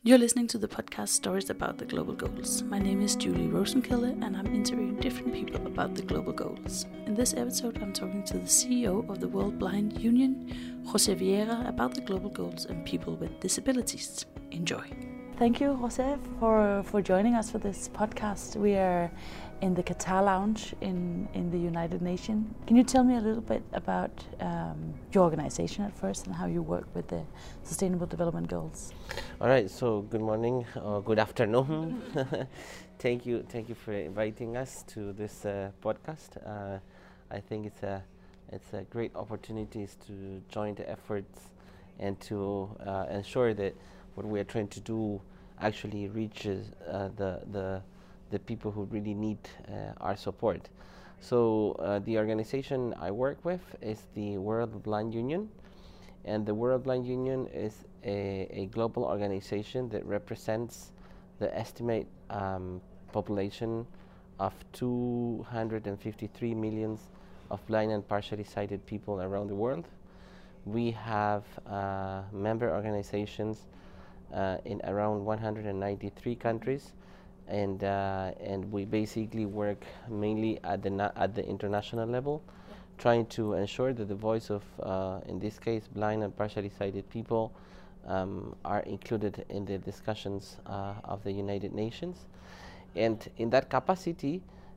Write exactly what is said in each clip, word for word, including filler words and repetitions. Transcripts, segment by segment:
You're listening to the podcast Stories About the Global Goals. My name is Julie Rosenkilde and I'm interviewing different people about the global goals. In this episode, I'm talking to the C E O of the World Blind Union, Jose Vieira, about the global goals and people with disabilities. Enjoy. Thank you, Jose, for, for joining us for this podcast. We are in the Qatar Lounge in, in the United Nations. Can you tell me a little bit about um, your organization at first and how you work with the Sustainable Development Goals? All right, so good morning or good afternoon. Thank you, thank you for inviting us to this uh, podcast. Uh, I think it's a it's a great opportunity to join the efforts and to uh, ensure that what we are trying to do actually reaches uh, the the the people who really need uh, our support. So uh, the organization I work with is the World Blind Union, and the World Blind Union is a, a global organization that represents the estimate um, population of two hundred fifty-three millions of blind and partially sighted people around the world. We have uh, member organizations uh, in around one hundred ninety-three countries, and uh, and we basically work mainly at the na at the international level, trying to ensure that the voice of, uh, in this case, blind and partially sighted people um, are included in the discussions uh, of the United Nations. And in that capacity,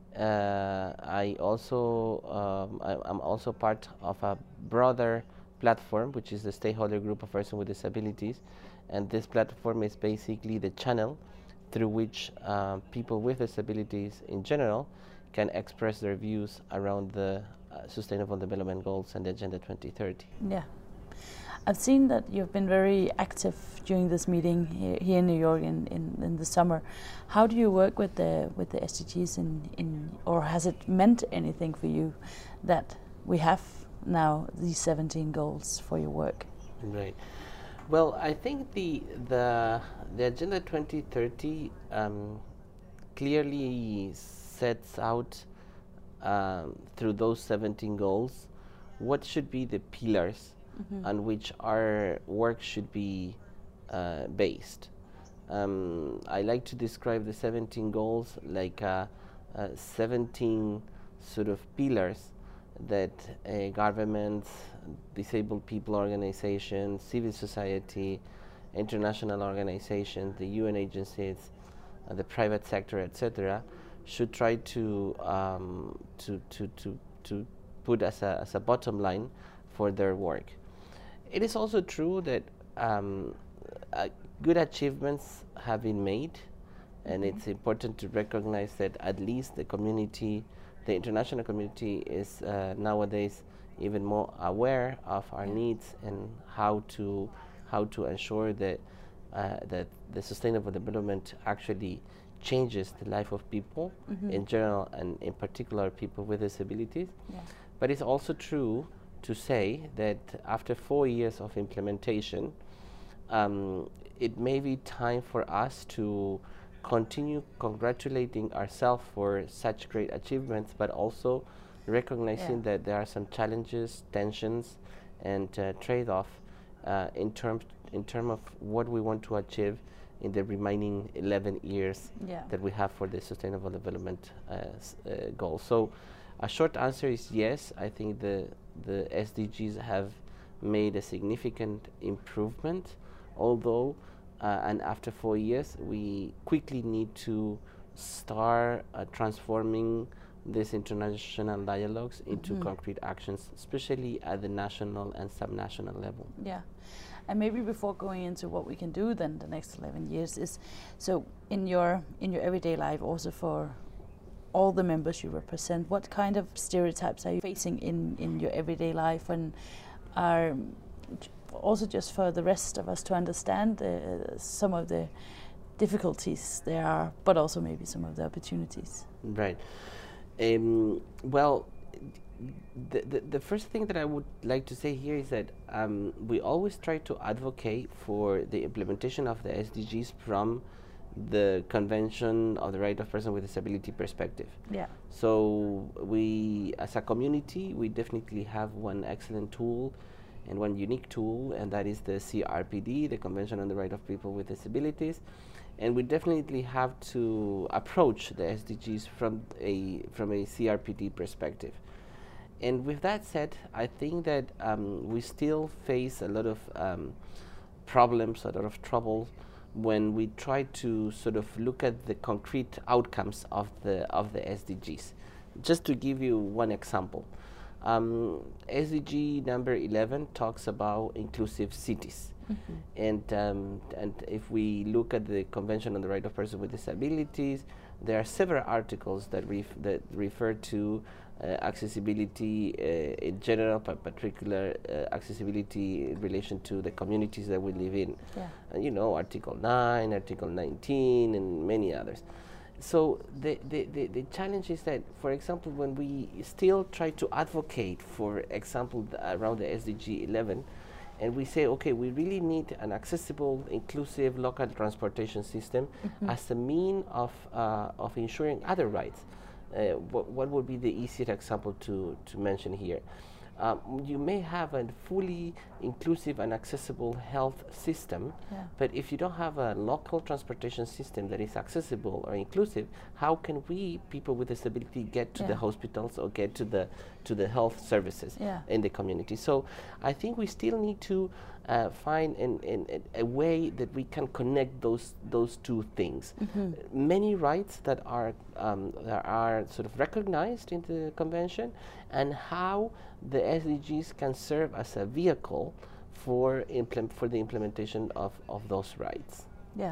uh, I also um, I, I'm also part of a broader platform, which is the Stakeholder Group of Persons with Disabilities, and this platform is basically the channel through which uh, people with disabilities in general can express their views around the uh, Sustainable Development Goals and the Agenda twenty thirty. Yeah. I've seen that you've been very active during this meeting here, here in New York in, in, in the summer. How do you work with the with the S D Gs in, in or has it meant anything for you that we have now these seventeen goals for your work? Right. Well, I think the the the Agenda twenty thirty um, clearly sets out um, through those seventeen goals what should be the pillars mm-hmm. on which our work should be uh, based. Um, I like to describe the seventeen goals like uh, uh, seventeen sort of pillars that uh, governments, disabled people organizations, civil society, international organizations, the U N agencies, uh, the private sector, et cetera, should try to um, to to to to put as a as a bottom line for their work. It is also true that um, uh, good achievements have been made, and mm-hmm. it's important to recognize that at least the community, the international community, is uh, nowadays even more aware of our yeah. needs and how to how to ensure that uh, that the sustainable development actually changes the life of people mm-hmm. in general and in particular people with disabilities. Yeah. But it's also true to say that after four years of implementation, um, it may be time for us to continue congratulating ourselves for such great achievements, but also recognizing yeah. that there are some challenges, tensions, and uh, trade-off uh, in terms in terms of what we want to achieve in the remaining eleven years yeah. that we have for the Sustainable Development uh, uh, Goals. So, a short answer is yes. I think the the S D Gs have made a significant improvement, although uh, and after four years we quickly need to start uh, transforming these international dialogues into mm-hmm. concrete actions, especially at the national and subnational level. Yeah. And maybe before going into what we can do then the next eleven years is, so in your in your everyday life, also for all the members you represent, what kind of stereotypes are you facing in, in your everyday life, and are also just for the rest of us to understand uh, some of the difficulties there are, but also maybe some of the opportunities? Right. Um, well, the, the the first thing that I would like to say here is that um, we always try to advocate for the implementation of the S D Gs from the Convention of the Right of Persons with Disability perspective. Yeah. So we, as a community, we definitely have one excellent tool and one unique tool, and that is the C R P D, the Convention on the Right of People with Disabilities. And we definitely have to approach the S D Gs from a from a C R P D perspective. And with that said, I think that um, we still face a lot of um, problems, a lot of trouble when we try to sort of look at the concrete outcomes of the of the S D Gs. Just to give you one example, um, S D G number eleven talks about inclusive cities. Mm-hmm. And um, and if we look at the Convention on the Right of Persons with Disabilities, there are several articles that ref that refer to uh, accessibility uh, in general, but particular uh, accessibility in relation to the communities that we live in. Yeah. Uh, you know, Article nine, Article nineteen, and many others. So the, the, the, the challenge is that, for example, when we still try to advocate, for example, the, around the S D G eleven, and we say, okay, we really need an accessible, inclusive local transportation system mm-hmm. as a mean of, uh, of ensuring other rights. Uh, wh what would be the easiest example to, to mention here? Um, you may have a fully inclusive and accessible health system, yeah. but if you don't have a local transportation system that is accessible or inclusive, how can we, people with disability, get to yeah. the hospitals or get to the to the health services yeah. in the community? So I think we still need to uh, find an, an, a way that we can connect those those two things. Mm-hmm. Many rights that are um, that are sort of recognized in the convention, and how the S D Gs can serve as a vehicle for implement for the implementation of, of those rights. Yeah.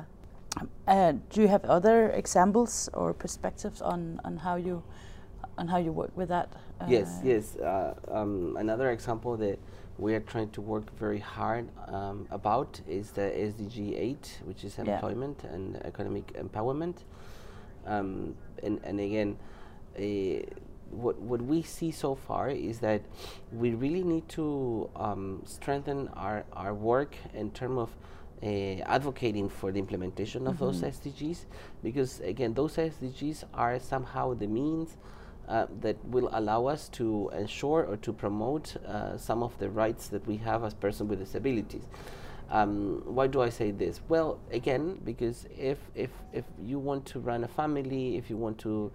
Uh, do you have other examples or perspectives on, on how you on how you work with that? Uh, yes, yes. Uh, um, another example that we are trying to work very hard um, about is the S D G eight, which is yeah. employment and economic empowerment. Um, and, and again, uh, What, what we see so far is that we really need to um, strengthen our, our work in terms of uh, advocating for the implementation mm-hmm. of those S D Gs, because again, those S D Gs are somehow the means uh, that will allow us to ensure or to promote uh, some of the rights that we have as persons with disabilities. Um, why do I say this? Well, again, because if, if, if you want to run a family, if you want to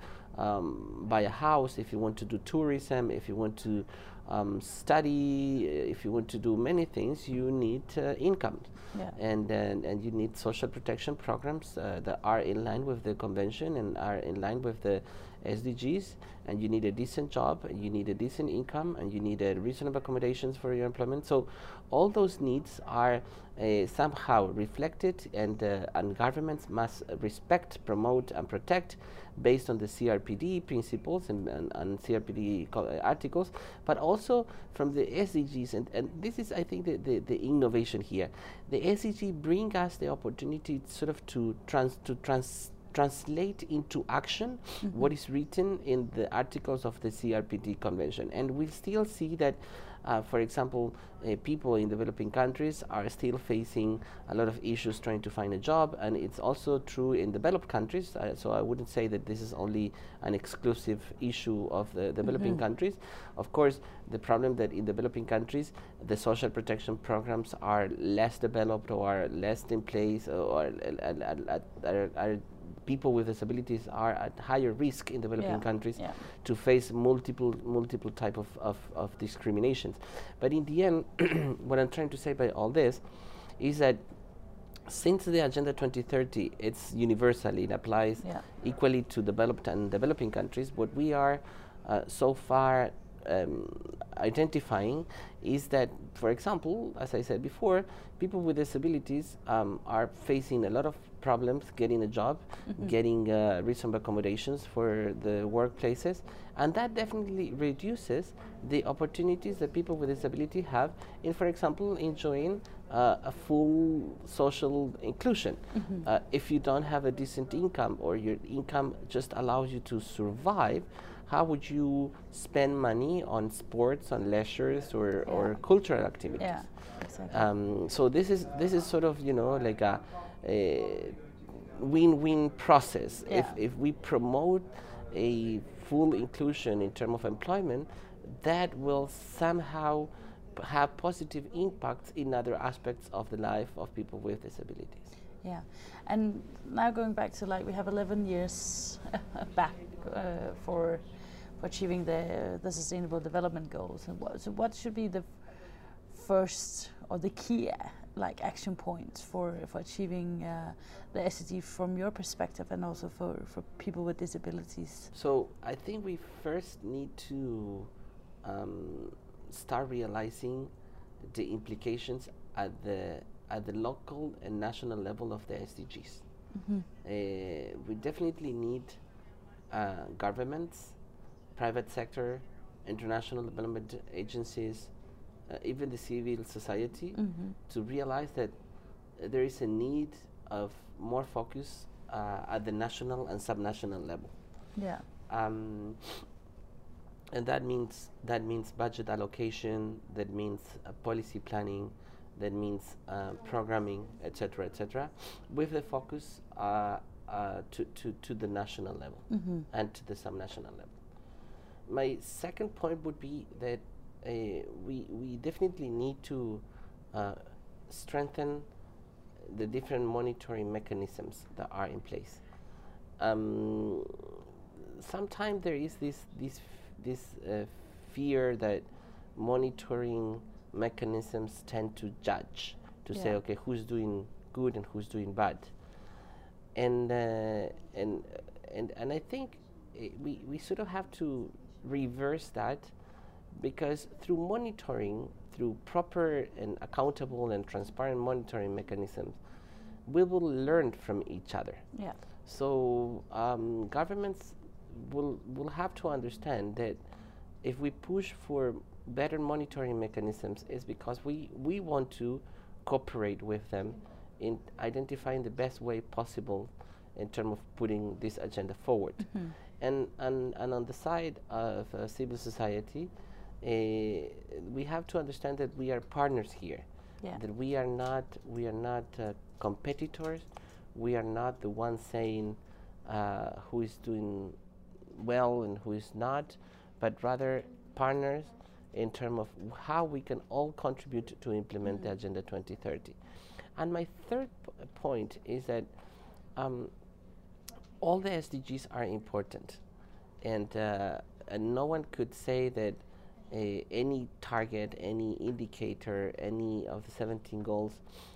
um, buy a house, if you want to do tourism, if you want to um, study, if you want to do many things, you need uh, income. Yeah. And, and, and you need social protection programs uh, that are in line with the convention and are in line with the S D Gs, and you need a decent job, and you need a decent income, and you need a reasonable accommodations for your employment. So all those needs are uh, somehow reflected, and, uh, and governments must uh, respect, promote, and protect based on the C R P D principles and, and, and C R P D uh, articles, but also from the S D Gs. And, and this is, I think, the, the, the innovation here. The S D G bring us the opportunity sort of to trans to trans translate into action mm-hmm. what is written in the articles of the C R P D convention. And we still see that, uh, for example, uh, people in developing countries are still facing a lot of issues trying to find a job, and it's also true in developed countries. Uh, so I wouldn't say that this is only an exclusive issue of the developing mm-hmm. countries. Of course, the problem that in developing countries, the social protection programs are less developed or are less in place, or, or uh, are, are people with disabilities are at higher risk in developing yeah. countries yeah. to face multiple multiple type of, of, of discriminations. But in the end, what I'm trying to say by all this is that since the Agenda twenty thirty, it's universally, it applies yeah. equally to developed and developing countries, what we are uh, so far um, identifying is that, for example, as I said before, people with disabilities um, are facing a lot of problems getting a job, mm-hmm. getting uh, reasonable accommodations for the workplaces, and that definitely reduces the opportunities that people with disability have in, for example, enjoying uh, a full social inclusion. Mm-hmm. uh, if you don't have a decent income, or your income just allows you to survive, how would you spend money on sports, on leisures, or, yeah. or cultural activities? Yeah, exactly. Um, so this is this is sort of, you know, like a, a win-win process. Yeah. If if we promote a full inclusion in terms of employment, that will somehow p- have positive impacts in other aspects of the life of people with disabilities. Yeah, and now going back to like we have eleven years back uh, for for achieving the the Sustainable Development Goals. And what, so what should be the first or the key uh, like action points for for achieving uh, the S D G from your perspective, and also for for people with disabilities? So I think we first need to um, start realizing the implications at the at the local and national level of the S D Gs. Mm-hmm. Uh, we definitely need uh, governments, private sector, international development agencies, uh, even the civil society, Mm-hmm. to realize that uh, there is a need of more focus uh, at the national and subnational level. Yeah. Um, and that means that means budget allocation, that means uh, policy planning, that means uh, programming, et cetera, et cetera, with the focus uh, uh, to, to, to the national level Mm-hmm. and to the subnational level. My second point would be that uh, we, we definitely need to uh, strengthen the different monitoring mechanisms that are in place. Um, sometimes there is this this f- this uh, fear that monitoring mechanisms tend to judge, to say, Yeah. okay, who's doing good and who's doing bad, and uh, and and and I think uh, we we sort of have to reverse that, because through monitoring, through proper and accountable and transparent monitoring mechanisms, we will learn from each other. Yeah. So um, governments will will have to understand that if we push for better monitoring mechanisms, it's because we, we want to cooperate with them in identifying the best way possible in terms of putting this agenda forward. Mm-hmm. And, and and on the side of uh, civil society, uh, we have to understand that we are partners here. Yeah. That we are not we are not uh, competitors. We are not the ones saying uh, who is doing well and who is not, but rather partners in terms of w- how we can all contribute to implement the Mhm. Agenda twenty thirty. And my third p- point is that um, all the S D Gs are important, and, uh, and no one could say that uh, any target, any indicator, any of the seventeen goals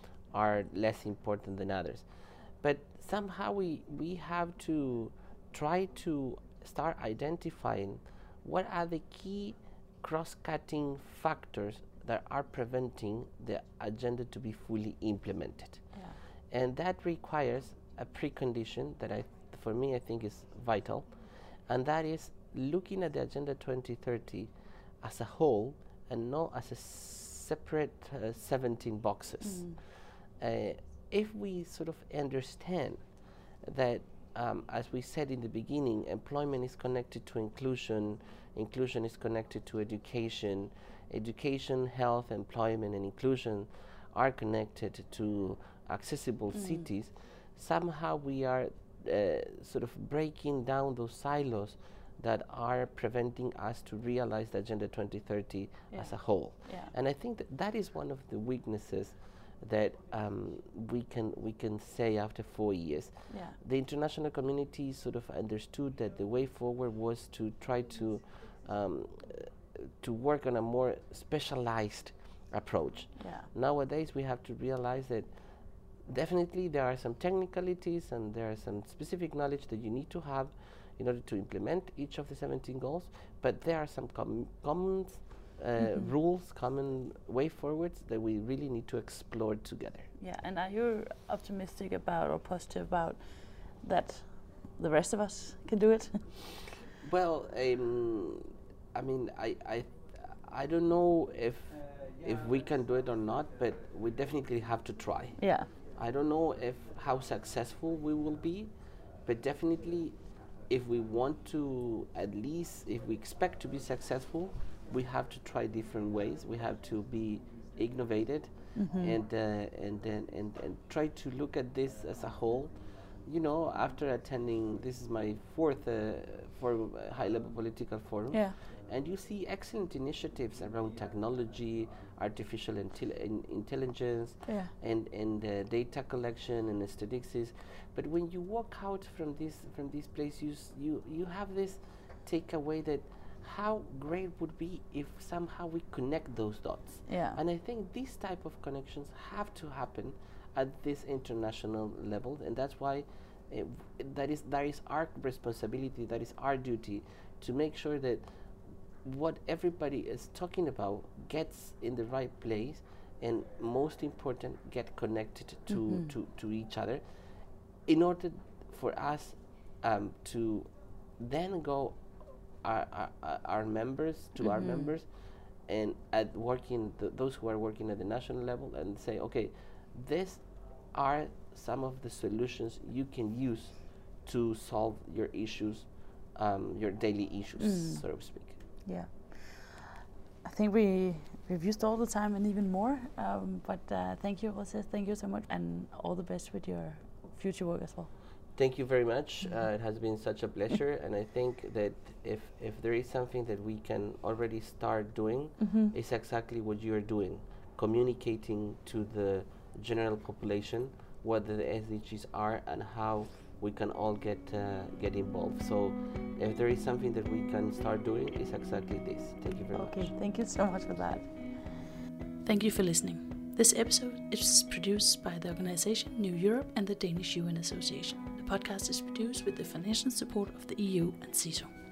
are less important than others. But somehow we, we have to try to start identifying what are the key cross-cutting factors that are preventing the agenda to be fully implemented. Yeah. And that requires a precondition that I, for me, I think is vital, and that is looking at the Agenda twenty thirty as a whole and not as a separate uh, seventeen boxes. Mm. Uh, if we sort of understand that, um, as we said in the beginning, employment is connected to inclusion, inclusion is connected to education, education, health, employment, and inclusion are connected to accessible Mm. cities, somehow we are uh, sort of breaking down those silos that are preventing us to realize the Agenda twenty thirty Yeah. as a whole. Yeah. And I think that that is one of the weaknesses that um, we can we can say after four years. Yeah. The international community sort of understood that the way forward was to try to um, uh, to work on a more specialized approach. Yeah. Nowadays, we have to realize that definitely there are some technicalities and there are some specific knowledge that you need to have in order to implement each of the seventeen goals, but there are some com- common uh, Mhm. rules, common way forwards that we really need to explore together. Yeah, and are you optimistic about or positive about that the rest of us can do it? Well, um, I mean, I, I, I don't know if if we can do it or not, but we definitely have to try. Yeah. I don't know if how successful we will be, but definitely, if we want to, at least if we expect to be successful, we have to try different ways. We have to be innovated, Mhm. and uh, and then and, and try to look at this as a whole. You know, after attending, this is my fourth uh, forum, uh, high-level political forum. Yeah. And you see excellent initiatives around technology, artificial intel- in intelligence, yeah. and and uh, data collection and statistics. But when you walk out from this from this place, you s- you you have this takeaway that how great would be if somehow we connect those dots. Yeah. And I think these type of connections have to happen at this international level, and that's why uh, that is that is our responsibility, that is our duty, to make sure that what everybody is talking about gets in the right place, and most important, get connected to Mm-hmm. to, to each other, in order for us um, to then go our, our, our members to our Mm-hmm. members, and at working th- those who are working at the national level, and say, okay, these are some of the solutions you can use to solve your issues, um, your daily issues, Mm. so to speak. Yeah. I think we we've used all the time and even more. Um, but uh, thank you, Jose. Thank you so much, and all the best with your future work as well. Thank you very much. Uh, it has been such a pleasure, and I think that if if there is something that we can already start doing, Mm-hmm. it's exactly what you are doing, communicating to the general population what the S D Gs are and how we can all get uh, get involved. So, if there is something that we can start doing, it's exactly this. Thank you very Okay. much. Thank you so much for that. Thank you for listening. This episode is produced by the organization New Europe and the Danish U N Association. The podcast is produced with the financial support of the E U and C I S O.